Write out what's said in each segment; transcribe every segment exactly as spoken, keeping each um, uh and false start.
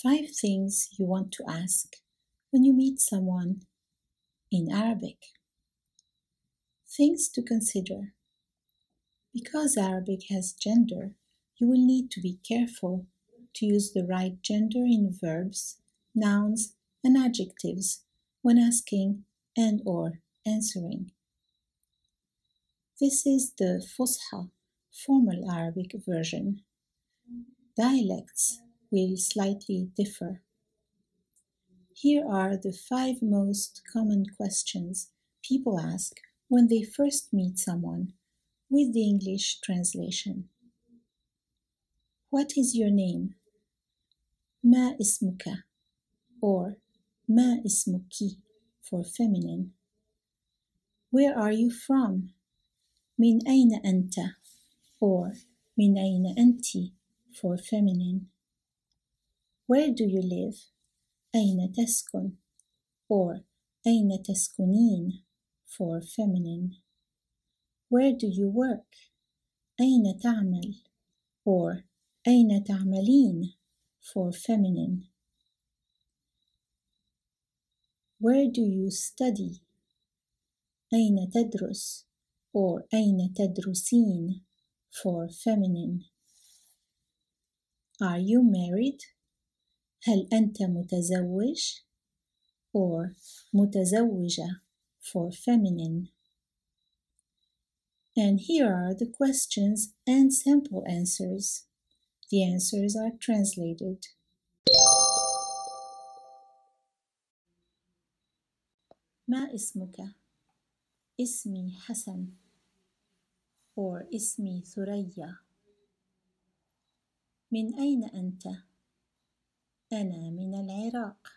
Five things you want to ask when you meet someone in Arabic. Things to consider. Because Arabic has gender, you will need to be careful to use the right gender in verbs, nouns, and adjectives when asking and or answering. This is the Fusha, formal Arabic version. Dialects will slightly differ. Here are the five most common questions people ask when they first meet someone, with the English translation. What is your name? ما اسمك, or ما اسمك for feminine. Where are you from? من أين أنت, or من أين أنت for feminine. Where do you live? أين تسكن, or أين تسكنين for feminine. Where do you work? أين تعمل, or أين تعملين for feminine. Where do you study? أين تدرس, or أين تدرسين for feminine. Are you married? هل أنت متزوج, or متزوجة for feminine. And here are the questions and sample answers. The answers are translated. ما اسمك? اسمي حسن, or اسمي ثريا. من أين أنت؟ أنا من العراق.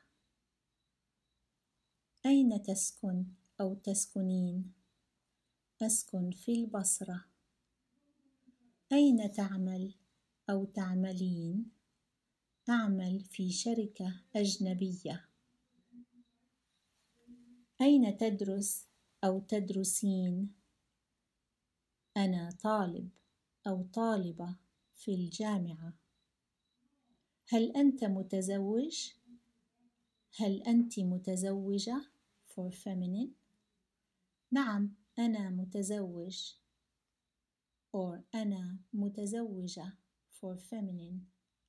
أين تسكن أو تسكنين؟ أسكن في البصرة. أين تعمل أو تعملين؟ أعمل في شركة أجنبية. أين تدرس أو تدرسين؟ أنا طالب أو طالبة في الجامعة. هل أنت متزوج؟ هل أنت متزوجة for feminine. نعم أنا متزوج, or أنا متزوجة for feminine.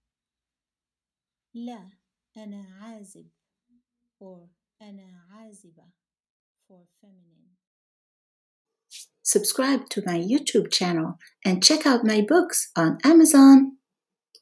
لا أنا عازب, or أنا عازبة for feminine. Subscribe to my YouTube channel and check out my books on Amazon.